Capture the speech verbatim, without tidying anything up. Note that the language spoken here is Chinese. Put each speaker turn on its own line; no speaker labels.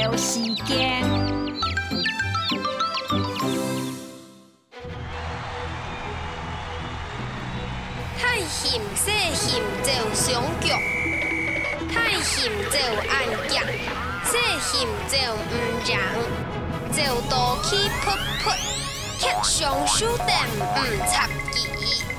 聊时间。
太嫌细嫌就上局，太嫌就按夹，细嫌就唔让，就多起噗噗，吃上书店唔插旗。